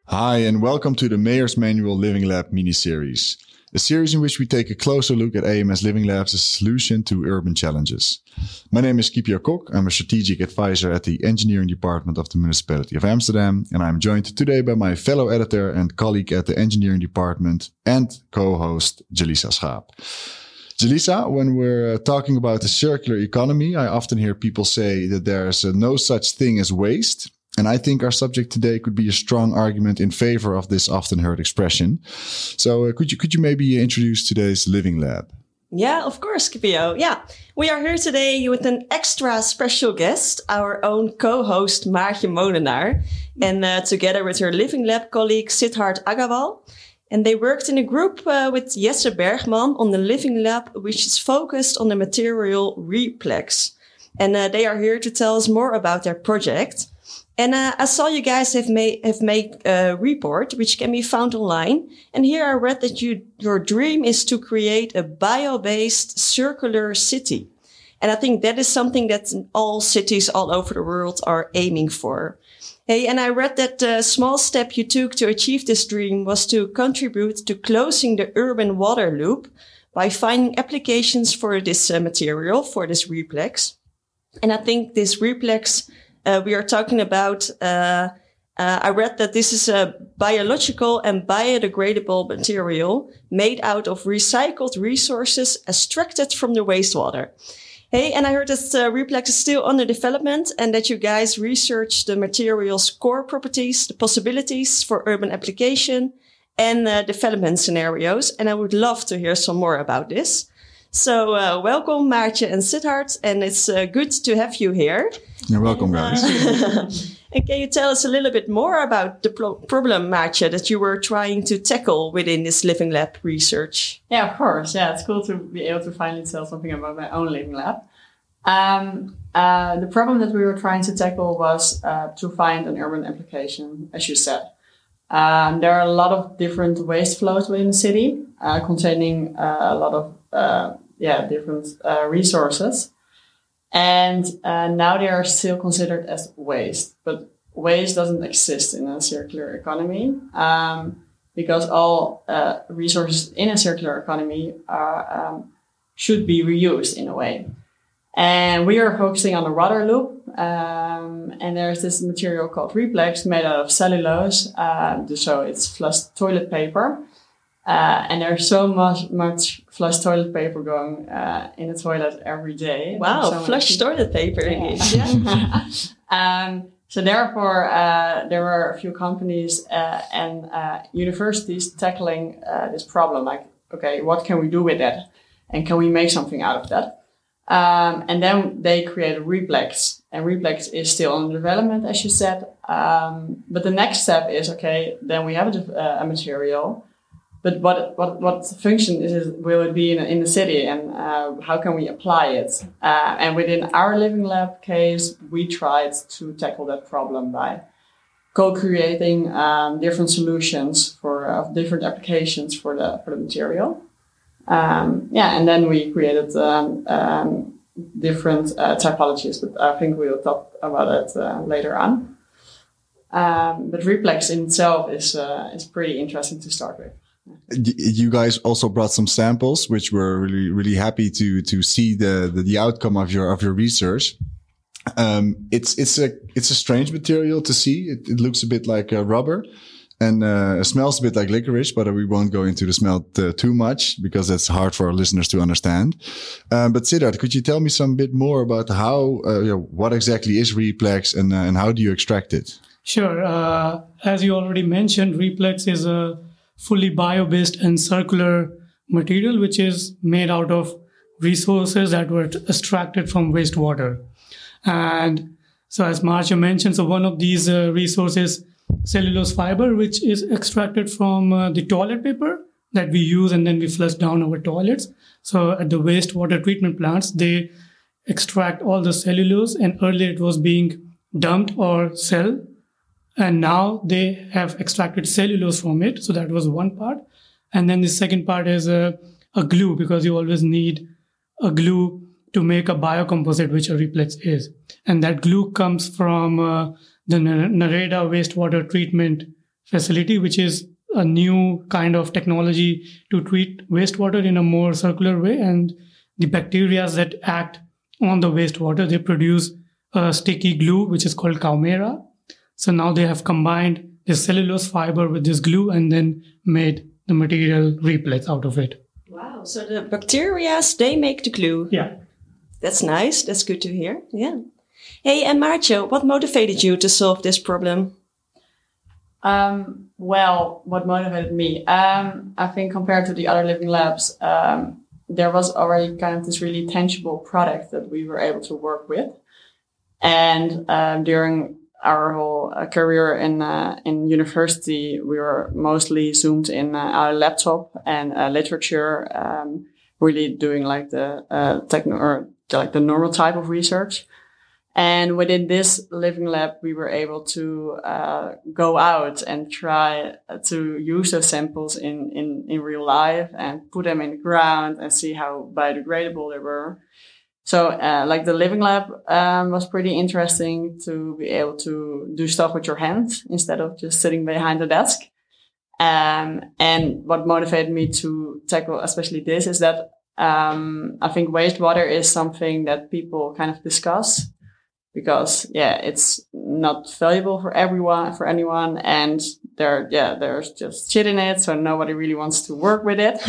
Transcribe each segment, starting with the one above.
Hi, and welcome to the Mayor's Manual Living Lab mini-series, a series in which we take a closer look at AMS Living Labs' solution to urban challenges. My name is Kiepje Kok. I'm a strategic advisor at the engineering department of the Municipality of Amsterdam, and I'm joined today by my fellow editor and colleague at the engineering department and co-host Jelisa Schaap. Jelisa, when we're talking about the circular economy, I often hear people say that there's no such thing as waste. And I think our subject today could be a strong argument in favor of this often heard expression. So could you maybe introduce today's Living Lab? Yeah, of course, Kiepje. Yeah, we are here today with an extra special guest, our own co-host Maartje Molenaar, and together with her Living Lab colleague Siddharth Agarwal. And they worked in a group with Jesse Bergman on the Living Lab, which is focused on the material Replex. And they are here to tell us more about their project. And I saw you guys have made a report, which can be found online. And here I read that your dream is to create a bio-based circular city. And I think that is something that all cities all over the world are aiming for. Hey, and I read that the small step you took to achieve this dream was to contribute to closing the urban water loop by finding applications for this material, for this Replex. And I think this Replex we are talking about, I read that this is a biological and biodegradable material made out of recycled resources extracted from the wastewater. Hey, and I heard that Replex is still under development and that you guys research the material's core properties, the possibilities for urban application and development scenarios. And I would love to hear some more about this. So welcome, Maartje and Siddharth, and it's good to have you here. You're welcome, guys. And can you tell us a little bit more about the problem, Maartje, that you were trying to tackle within this Living Lab research? Yeah, of course. Yeah, it's cool to be able to finally tell something about my own Living Lab. The problem that we were trying to tackle was to find an urban application, as you said. There are a lot of different waste flows within the city, containing a lot of different resources. And now they are still considered as waste. But waste doesn't exist in a circular economy because all resources in a circular economy should be reused in a way. And we are focusing on the water loop. And there's this material called Replex made out of cellulose. So it's flushed toilet paper. And there's so much flushed toilet paper going in the toilet every day. Wow, so flushed toilet paper. Yeah. So therefore, there were a few companies and universities tackling this problem. Like, okay, what can we do with that? And can we make something out of that? And then they created Replex. And Replex is still under development, as you said. But the next step is, okay, then we have a material. But what function will it be in the city, and how can we apply it? And within our Living Lab case, we tried to tackle that problem by co-creating different solutions for different applications for the material. And then we created different typologies, but I think we'll talk about it later on. But Replex in itself is pretty interesting to start with. You guys also brought some samples, which we're really happy to see the outcome of your research. It's a strange material to see. It looks a bit like rubber, and smells a bit like licorice. But we won't go into the smell too much because that's hard for our listeners to understand. But Siddharth, could you tell me some bit more about how what exactly is Replex and how do you extract it? Sure. As you already mentioned, Replex is a fully bio-based and circular material, which is made out of resources that were extracted from wastewater. And so as Maartje mentioned, so one of these resources, cellulose fiber, which is extracted from the toilet paper that we use and then we flush down our toilets. So at the wastewater treatment plants, they extract all the cellulose, and earlier it was being dumped or sold. And now they have extracted cellulose from it. So that was one part. And then the second part is a glue, because you always need a glue to make a biocomposite, which a Replex is. And that glue comes from the Nareda wastewater treatment facility, which is a new kind of technology to treat wastewater in a more circular way. And the bacteria that act on the wastewater, they produce a sticky glue, which is called Caumera. So now they have combined the cellulose fiber with this glue and then made the material Replex out of it. Wow. So the bacteria, they make the glue. Yeah. That's nice. That's good to hear. Yeah. Hey, and Maartje, what motivated you to solve this problem? Well, what motivated me? I think compared to the other living labs, there was already kind of this really tangible product that we were able to work with. And during our whole career in university, we were mostly zoomed in our laptop and literature, really doing like the the normal type of research. And within this living lab, we were able to go out and try to use those samples in real life and put them in the ground and see how biodegradable they were. So like the living lab was pretty interesting to be able to do stuff with your hands instead of just sitting behind the desk. And what motivated me to tackle especially this is that I think wastewater is something that people kind of discuss. Because it's not valuable for anyone, and there's just shit in it, so nobody really wants to work with it.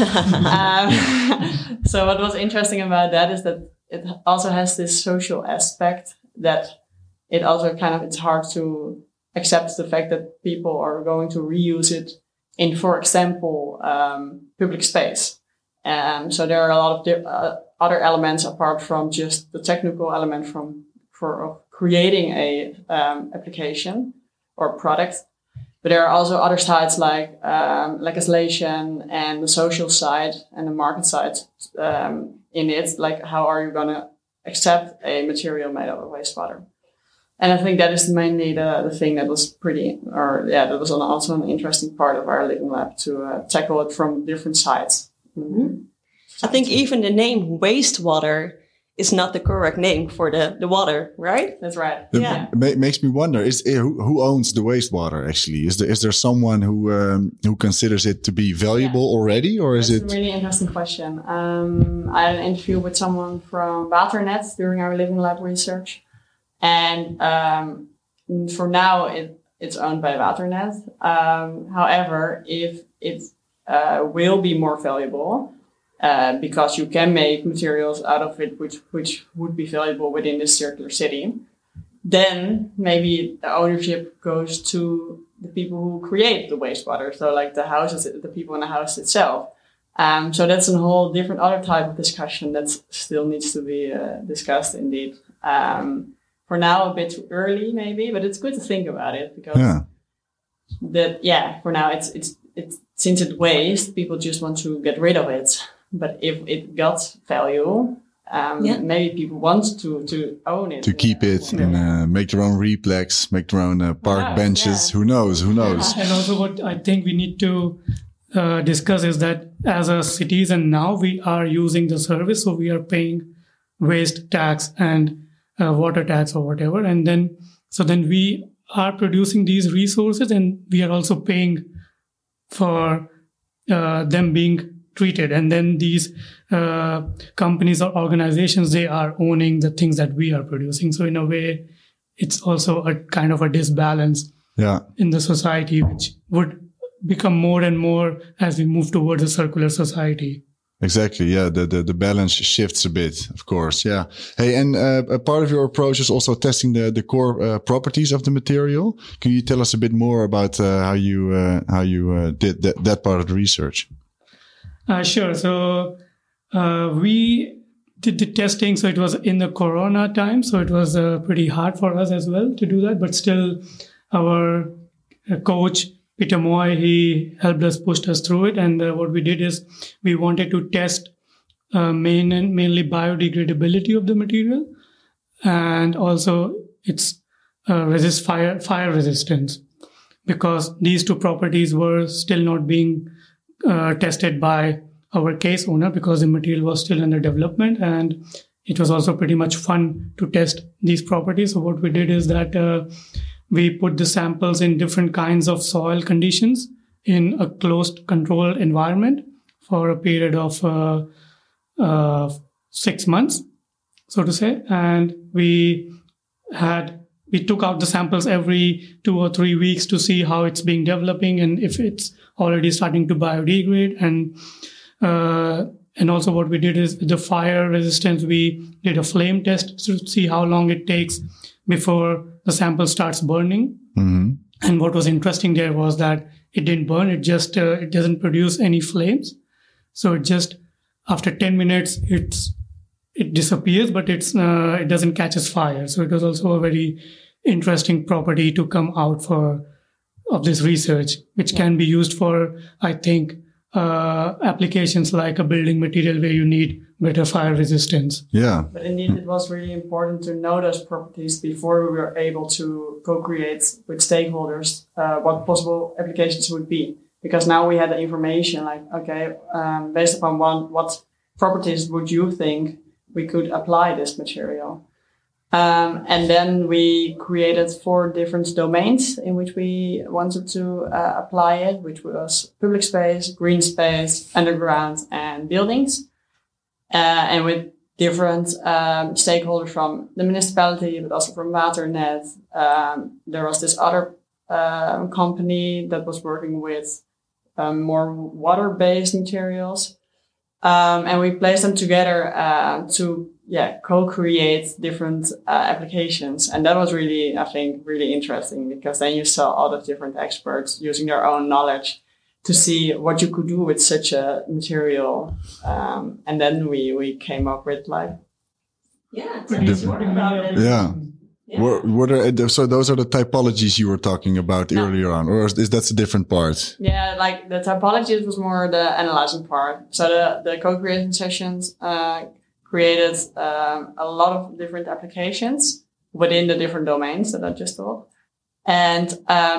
So what was interesting about that is that it also has this social aspect that it also it's hard to accept the fact that people are going to reuse it in, for example, public space. So there are a lot of other elements apart from just the technical element for creating a application or product, but there are also other sides like legislation and the social side and the market side in it. Like, how are you going to accept a material made out of wastewater? And I think that is mainly the thing that was that was also an interesting part of our living lab to tackle it from different sides. Mm-hmm. I think even the name wastewater is not the correct name for the water, right? That's right. Makes me wonder: who owns the wastewater? Actually, is there someone who considers it to be valuable already, or is it? That's a really interesting question. I had an interview with someone from Waternet during our living lab research, and for now it's owned by Waternet. However, if it will be more valuable. Because you can make materials out of it which would be valuable within this circular city, then maybe the ownership goes to the people who create the wastewater. So like the houses, the people in the house itself. So that's a whole different other type of discussion that still needs to be discussed indeed. For now, a bit too early maybe, but it's good to think about it because for now it's since it's waste, people just want to get rid of it. But if it got value, maybe people want to own it. To keep it and make their own Replex, make their own park benches. Yeah. Who knows? And also what I think we need to discuss is that as a citizen now, we are using the service. So we are paying waste tax and water tax or whatever. And then we are producing these resources and we are also paying for them being treated, and then these companies or organizations, they are owning the things that we are producing. So in a way, it's also a kind of a disbalance in the society, which would become more and more as we move towards a circular society. Exactly. Yeah. The balance shifts a bit, of course. Yeah. Hey, and a part of your approach is also testing the core properties of the material. Can you tell us a bit more about how you did that part of the research? Sure. So we did the testing. So it was in the Corona time. So it was pretty hard for us as well to do that. But still, our coach, Peter Moy, he helped us, pushed us through it. And what we did is we wanted to test mainly biodegradability of the material and also its fire resistance, because these two properties were still not being tested by our case owner because the material was still under development, and it was also pretty much fun to test these properties. So what we did is that we put the samples in different kinds of soil conditions in a closed, controlled environment for a period of 6 months, so to say. And we took out the samples every 2 or 3 weeks to see how it's being developing and if it's already starting to biodegrade. And also what we did is the fire resistance, we did a flame test to see how long it takes before the sample starts burning. Mm-hmm. And what was interesting there was that it didn't burn. It just, it doesn't produce any flames. So it just, after 10 minutes, it disappears, but it doesn't catch fire. So it was also a very interesting property to come out of this research, which can be used for, I think, applications like a building material where you need better fire resistance. Yeah. But indeed, it was really important to know those properties before we were able to co-create with stakeholders what possible applications would be. Because now we had the information like, okay, based upon what properties would you think we could apply this material? And then we created 4 different domains in which we wanted to apply it, which was public space, green space, underground, and buildings. And with different stakeholders from the municipality, but also from Waternet. There was this other company that was working with more water-based materials. And we placed them together to co-create different applications. And that was really, I think, really interesting because then you saw all the different experts using their own knowledge to see what you could do with such a material. And then we came up with like... Yeah, tell us more about it. Yeah. Yeah. So those are the typologies you were talking about earlier on, or is that a different part? Yeah, like the typology was more the analyzing part. So the co-creation sessions created a lot of different applications within the different domains that I just thought. And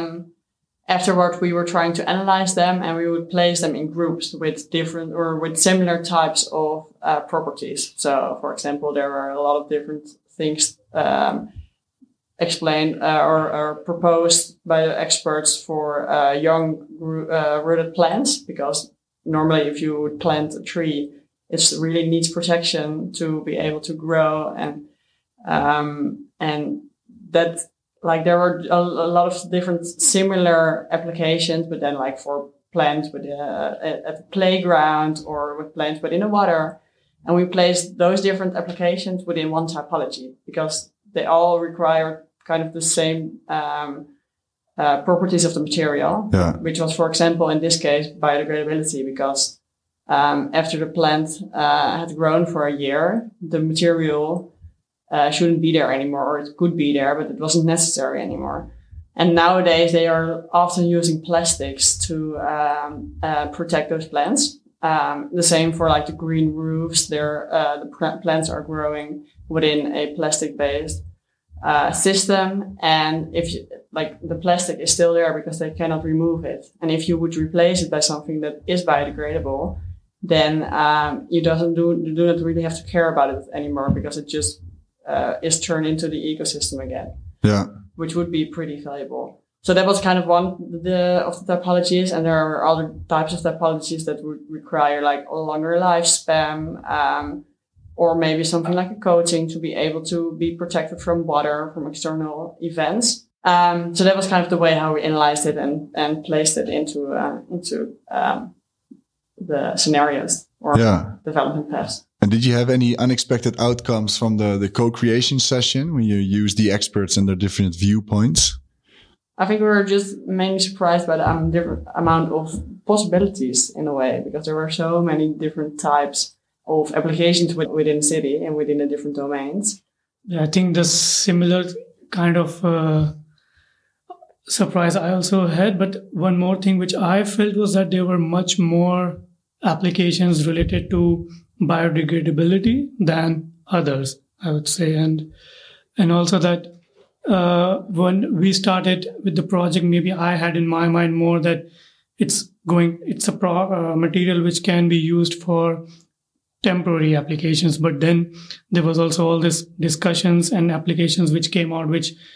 afterwards, we were trying to analyze them, and we would place them in groups with different or with similar types of properties. So, for example, there are a lot of different things explained or proposed by the experts for young rooted plants, because normally if you would plant a tree, it really needs protection to be able to grow, and that like there were a lot of different similar applications, but then like for plants at the playground or with plants within the water, and we placed those different applications within one typology because they all require kind of the same properties of the material, which was, for example, in this case, biodegradability, because after the plant had grown for a year, the material shouldn't be there anymore, or it could be there, but it wasn't necessary anymore. And nowadays, they are often using plastics to protect those plants. The same for like the green roofs. The plants are growing within a plastic-based system, and if you, like the plastic is still there because they cannot remove it. And if you would replace it by something that is biodegradable, then you do not really have to care about it anymore because it just is turned into the ecosystem again. Yeah, which would be pretty valuable. So that was kind of one of the typologies, and there are other types of typologies that would require like a longer lifespan. Or maybe something like a coating to be able to be protected from water, from external events. So that was kind of the way how we analyzed it and placed it into the scenarios or development paths. And did you have any unexpected outcomes from the co-creation session when you used the experts and their different viewpoints? I think we were just mainly surprised by the different amount of possibilities in a way, because there were so many different types of applications within the city and within the different domains. Yeah, I think the similar kind of surprise I also had. But one more thing which I felt was that there were much more applications related to biodegradability than others, I would say. And also that when we started with the project, maybe I had in my mind more that it's a material which can be used for temporary applications, but then there was also all this discussions and applications which came out which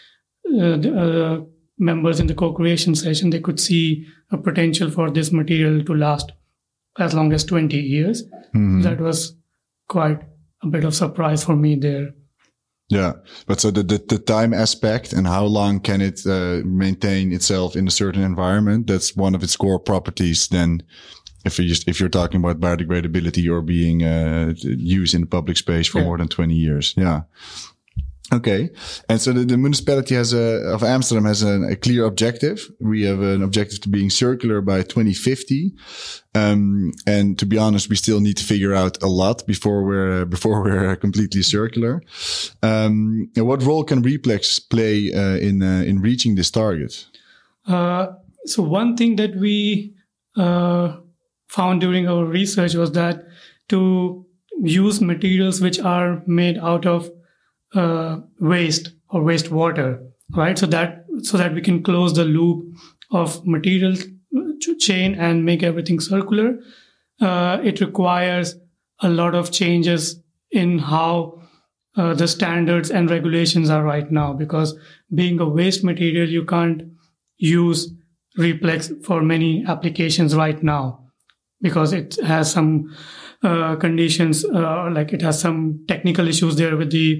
the members in the co-creation session, they could see a potential for this material to last as long as 20 years. That was quite a bit of surprise for me there. Yeah, but so the time aspect and how long can it maintain itself in a certain environment, that's one of its core properties. Then if you're talking about biodegradability or being used in the public space for more than 20 years. Yeah. Okay. And so the municipality of Amsterdam has a clear objective. We have an objective to being circular by 2050. And to be honest, we still need to figure out a lot before we're completely circular. And what role can Replex play in reaching this target? So one thing that we found during our research was that to use materials which are made out of waste or wastewater, right? So that we can close the loop of material chain and make everything circular. It requires a lot of changes in how the standards and regulations are right now, because being a waste material, you can't use Replex for many applications right now because it has some conditions, like it has some technical issues there with the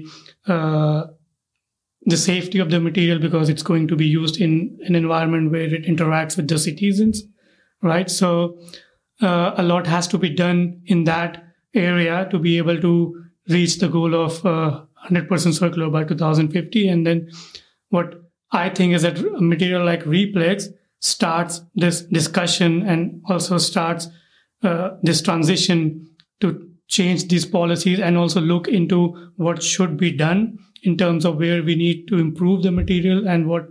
safety of the material, because it's going to be used in an environment where it interacts with the citizens, right? So a lot has to be done in that area to be able to reach the goal of 100% circular by 2050. And then what I think is that a material like Replex starts this discussion and also starts this transition to change these policies and also look into what should be done in terms of where we need to improve the material and what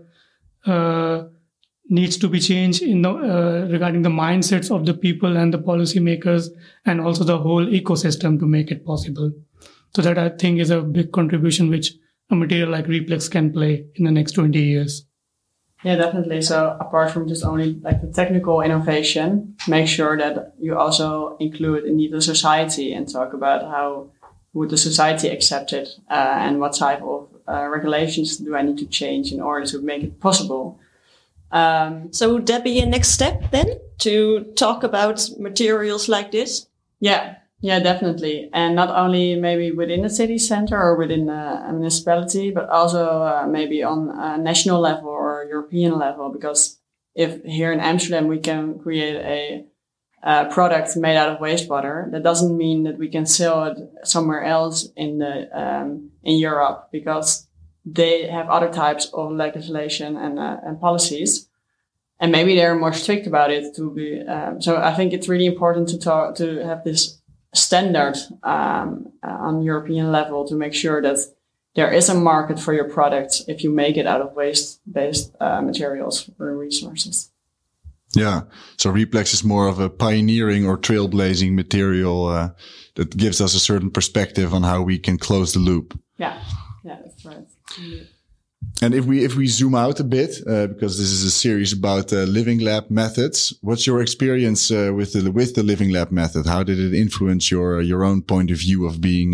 needs to be changed in the, regarding the mindsets of the people and the policymakers and also the whole ecosystem to make it possible. So that I think is a big contribution which a material like Replex can play in the next 20 years. Yeah, definitely. So apart from just only like the technical innovation, make sure that you also include indeed the society and talk about how would the society accept it and what type of regulations do I need to change in order to make it possible. So would that be a next step then, to talk about materials like this? Yeah, definitely. And not only maybe within the city center or within a municipality, but also maybe on a national level or European level. Because if here in Amsterdam we can create a product made out of wastewater, that doesn't mean that we can sell it somewhere else in Europe, because they have other types of legislation and policies. And maybe they're more strict about it to be. So I think it's really important to have this standard on European level to make sure that there is a market for your product if you make it out of waste-based materials or resources. Yeah, so Replex is more of a pioneering or trailblazing material that gives us a certain perspective on how we can close the loop. Yeah, that's right. And if we zoom out a bit, because this is a series about Living Lab methods, what's your experience with the Living Lab method? How did it influence your own point of view of being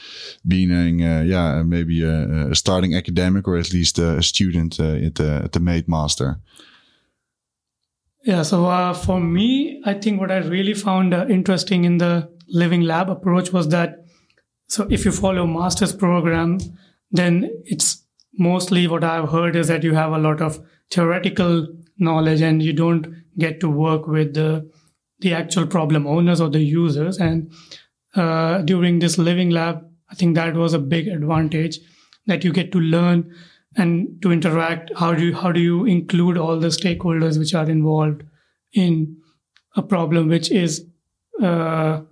maybe a starting academic or at least a student at the Made Master? Yeah, so for me, I think what I really found interesting in the Living Lab approach was that, so if you follow master's program, then it's mostly what I've heard is that you have a lot of theoretical knowledge and you don't get to work with the actual problem owners or the users. And during this Living Lab, I think that was a big advantage, that you get to learn and to interact. How do you include all the stakeholders which are involved in a problem which is a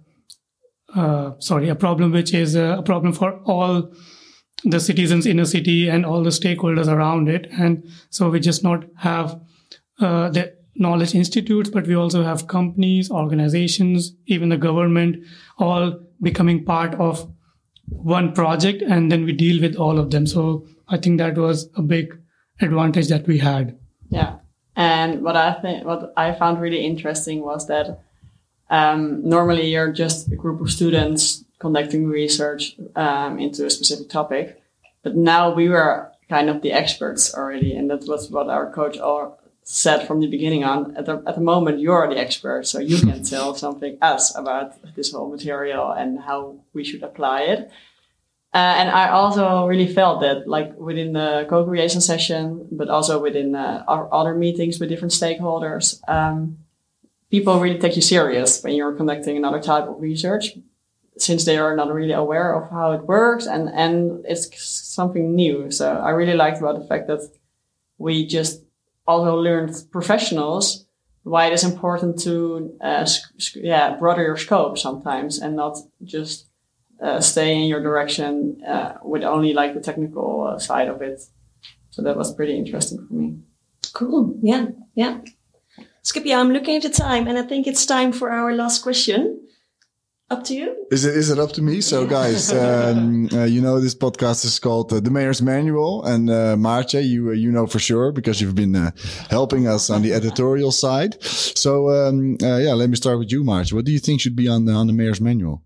problem for all the citizens in a city and all the stakeholders around it. And so we just not have the knowledge institutes, but we also have companies, organizations, even the government, all becoming part of one project, and then we deal with all of them. So I think that was a big advantage that we had. Yeah. And what I found really interesting was that normally you're just a group of students conducting research into a specific topic. But now we were kind of the experts already. And that was what our coach said from the beginning on. At the moment, you're the expert, so you can tell something us about this whole material and how we should apply it. And I also really felt that, like within the co-creation session, but also within our other meetings with different stakeholders, people really take you serious when you're conducting another type of research, since they are not really aware of how it works and it's something new. So I really liked about the fact that we just also learned professionals why it is important to broaden your scope sometimes and not just stay in your direction with only like the technical side of it. So that was pretty interesting for me. Cool. Yeah. Scipio, I'm looking at the time and I think it's time for our last question. Up to you. Is it up to me? So guys, this podcast is called The Mayor's Manual, and Maartje, you know for sure because you've been helping us on the editorial side. So let me start with you, Maartje. What do you think should be on the Mayor's Manual?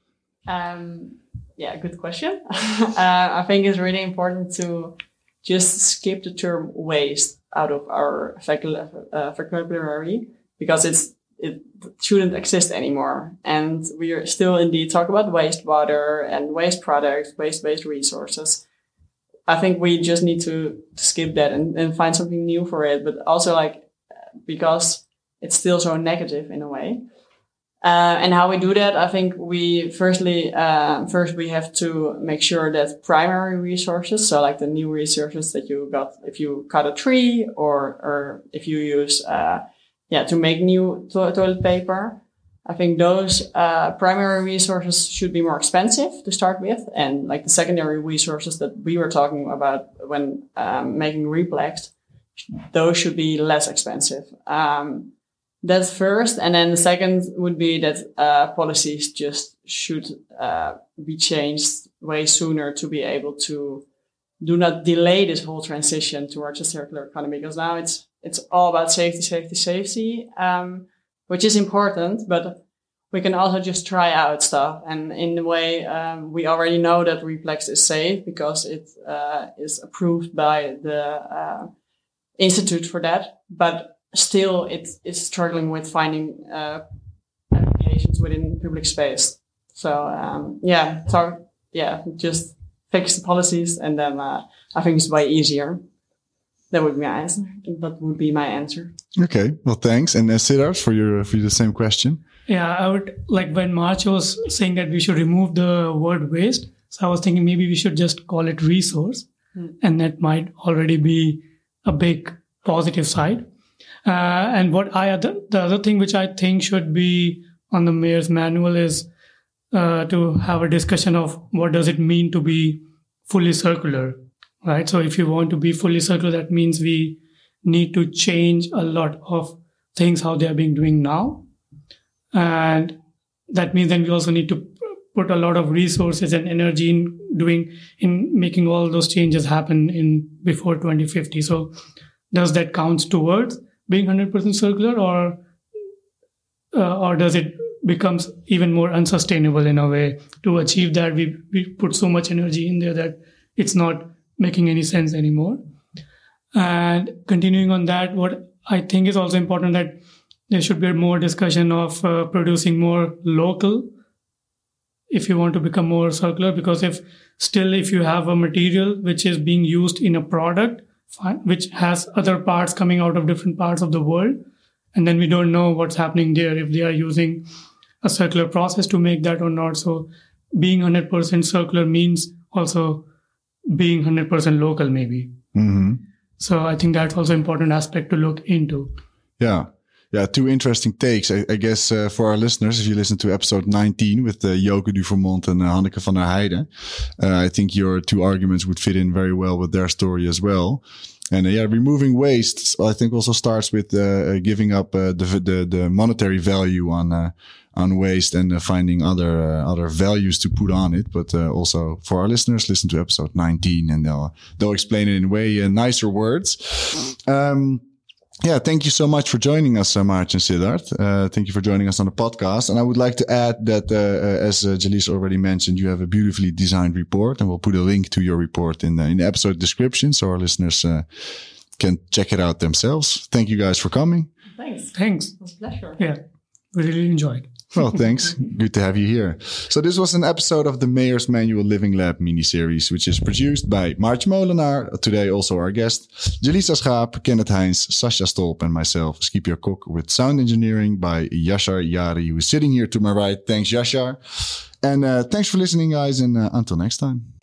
Good question. I think it's really important to just skip the term waste out of our vocabulary because it shouldn't exist anymore. And we are still indeed talk about wastewater and waste products, waste-based resources. I think we just need to skip that and find something new for it. But also because it's still so negative in a way. And how we do that, I think first we have to make sure that primary resources, so like the new resources that you got if you cut a tree or if you use to make new toilet paper. I think those primary resources should be more expensive to start with. And like the secondary resources that we were talking about when making Replex, those should be less expensive. That's first. And then the second would be that policies just should be changed way sooner to be able to do not delay this whole transition towards a circular economy. Because now it's all about safety, which is important, but we can also just try out stuff. And in a way, we already know that Replex is safe because it is approved by the Institute for that. But still, it is struggling with finding applications within public space. So, just fix the policies, and then I think it's way easier. That would be my answer. Okay, well, thanks. And Siddharth, for you the same question. Yeah, I would like when Maartje was saying that we should remove the word waste. So I was thinking maybe we should just call it resource, and that might already be a big positive side. And the other thing which I think should be on the Mayor's Manual is to have a discussion of what does it mean to be fully circular, right? So if you want to be fully circular, that means we need to change a lot of things how they are being doing now. And that means then we also need to put a lot of resources and energy in making all those changes happen before 2050. So does that count towards being 100% circular, or does it becomes even more unsustainable in a way? To achieve that, we put so much energy in there that it's not making any sense anymore. And continuing on that, what I think is also important that there should be more discussion of producing more local if you want to become more circular, because if you have a material which is being used in a product which has other parts coming out of different parts of the world, and then we don't know what's happening there, if they are using a circular process to make that or not. So being 100% circular means also being 100% local maybe. Mm-hmm. So I think that's also an important aspect to look into. Yeah, two interesting takes. I guess for our listeners, if you listen to episode 19 with Joke Duvermont and Hanneke van der Heijden, I think your two arguments would fit in very well with their story as well. And removing waste, I think also starts with giving up the monetary value on waste and finding other values to put on it. But also for our listeners, listen to episode 19 and they'll explain it in way nicer words. Yeah, thank you so much for joining us, March and Siddharth. Thank you for joining us on the podcast. And I would like to add that, as Jaleesa already mentioned, you have a beautifully designed report, and we'll put a link to your report in the episode description so our listeners can check it out themselves. Thank you guys for coming. Thanks. It was a pleasure. Yeah, we really enjoyed. Well, thanks. Good to have you here. So this was an episode of the Mayor's Manual Living Lab mini-series, which is produced by March Molenaar, today also our guest, Jaleesa Schaap, Kenneth Heins, Sascha Stolp, and myself, Scipio Kok, with sound engineering by Yashar Yari, who is sitting here to my right. Thanks, Yashar. And thanks for listening, guys, and until next time.